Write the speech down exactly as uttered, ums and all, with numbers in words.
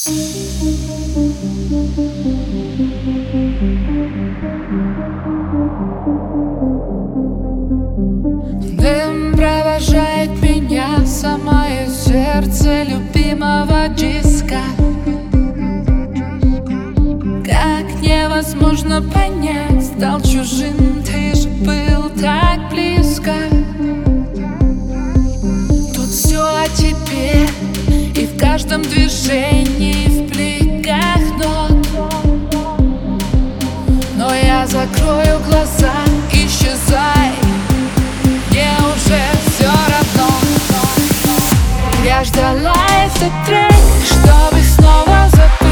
Дым провожает меня в самое сердце любимого диска. Как невозможно понять, стал чужим, ты же был так близко. Тут все о тебе, и в каждом движении, в бликах нот. Но я закрою глаза, исчезай, мне уже все равно. Я ждала этот трек, чтобы снова запомнить.